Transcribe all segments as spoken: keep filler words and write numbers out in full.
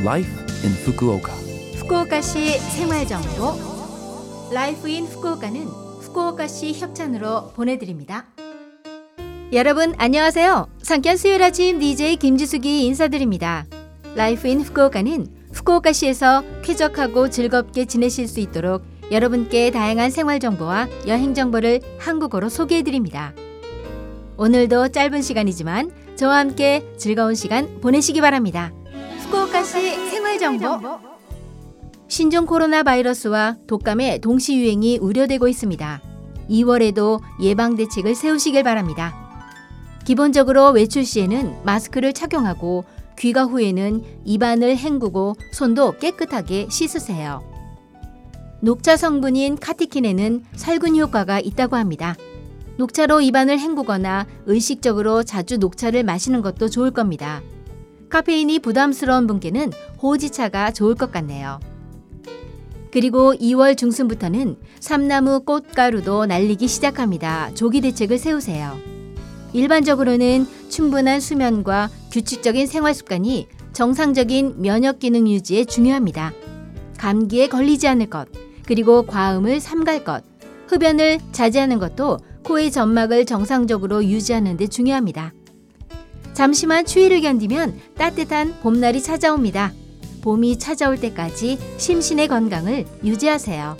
Life in Fukuoka. 후쿠오카시 생활정보 라이프 인 후쿠오카는 후쿠오카시 협찬으로 보내드립니다. 여러분 안녕하세요. 상쾌한 수요일 아침 디제이 김지숙이 인사드립니다. 라이프 인 후쿠오카는 후쿠오카시에서 쾌적하고 즐겁게 지내실 수 있도록 여러분께 다양한 생활정보와 여행정보를 한국어로 소개해드립니다. 오늘도 짧은 시간이지만 저와 함께 즐거운 시간 보내시기 바랍니다. 후쿠오카시 생활정보 신종 코로나 바이러스와 독감의 동시 유행이 우려되고 있습니다. 이월에도 예방 대책을 세우시길 바랍니다. 기본적으로 외출 시에는 마스크를 착용하고 귀가 후에는 입안을 헹구고 손도 깨끗하게 씻으세요. 녹차 성분인 카티킨에는 살균 효과가 있다고 합니다. 녹차로 입안을 헹구거나 의식적으로 자주 녹차를 마시는 것도 좋을 겁니다. 카페인이 부담스러운 분께는 호지차가 좋을 것 같네요. 그리고 이월 중순부터는 삼나무 꽃가루도 날리기 시작합니다. 조기 대책을 세우세요. 일반적으로는 충분한 수면과 규칙적인 생활 습관이 정상적인 면역 기능 유지에 중요합니다. 감기에 걸리지 않을 것, 그리고 과음을 삼갈 것, 흡연을 자제하는 것도 코의 점막을 정상적으로 유지하는 데 중요합니다. 잠시만 추위를 견디면 따뜻한 봄날이 찾아옵니다. 봄이 찾아올 때까지 심신의 건강을 유지하세요.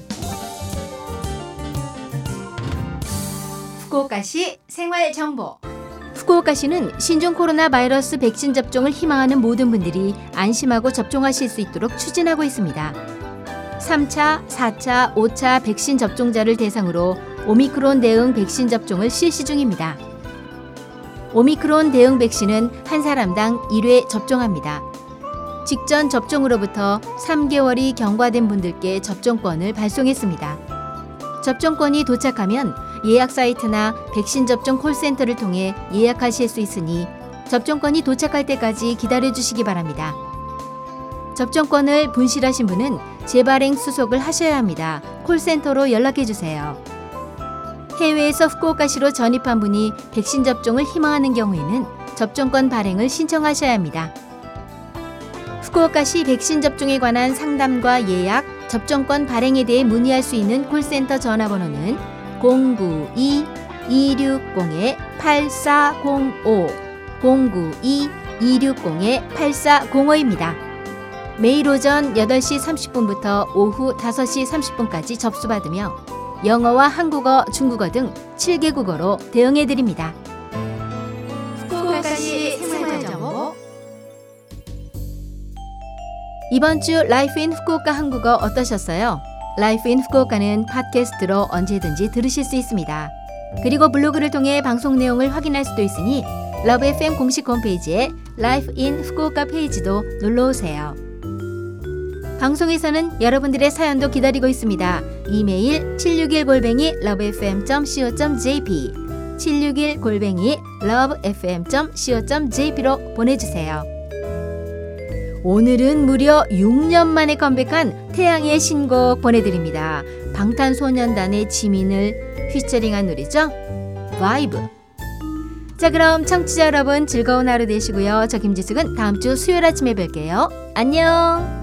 후쿠오카시 생활정보 후쿠오카시는 신종 코로나 바이러스 백신 접종을 희망하는 모든 분들이 안심하고 접종하실 수 있도록 추진하고 있습니다. 삼 차, 사 차, 오 차 백신 접종자를 대상으로 오미크론 대응 백신 접종을 실시 중입니다. 오미크론 대응 백신은 한 사람당 일 회 접종합니다. 직전 접종으로부터 삼 개월이 경과된 분들께 접종권을 발송했습니다. 접종권이 도착하면 예약 사이트나 백신 접종 콜센터를 통해 예약하실 수 있으니 접종권이 도착할 때까지 기다려주시기 바랍니다. 접종권을 분실하신 분은 재발행 수속을 하셔야 합니다. 콜센터로 연락해주세요. 해외에서 후쿠오카시로 전입한 분이 백신 접종을 희망하는 경우에는 접종권 발행을 신청하셔야 합니다. 후쿠오카시 백신 접종에 관한 상담과 예약, 접종권 발행에 대해 문의할 수 있는 콜센터 전화번호는 공구이 이육공 팔사공오 공구이 이육공 팔사공오입니다. 매일 오전 여덟 시 삼십 분부터 오후 다섯 시 삼십 분까지 접수받으며 영어와 한국어, 중국어 등 칠 개 국어로 대응해드립니다. 후쿠오카시 생활정보 이번 주 라이프 인 후쿠오카 한국어 어떠셨어요? 라이프 인 후쿠오카는 팟캐스트로 언제든지 들으실 수 있습니다. 그리고 블로그를 통해 방송 내용을 확인할 수도 있으니 러브 에프엠 공식 홈페이지에 라이프 인 후쿠오카 페이지도 놀러오세요. 방송에서는 여러분들의 사연도 기다리고 있습니다. 이메일 칠육일 골뱅이 러브에프엠 닷 씨오 닷 제이피 칠육일 골뱅이 러브에프엠 닷 씨오 닷 제이피로 보내주세요. 오늘은 무려 육 년 만에 컴백한 태양의 신곡 보내드립니다. 방탄소년단의 지민을 피처링한 노래죠. 바이브. 자, 그럼 청취자 여러분 즐거운 하루 되시고요. 저 김지숙은 다음 주 수요일 아침에 뵐게요. 안녕.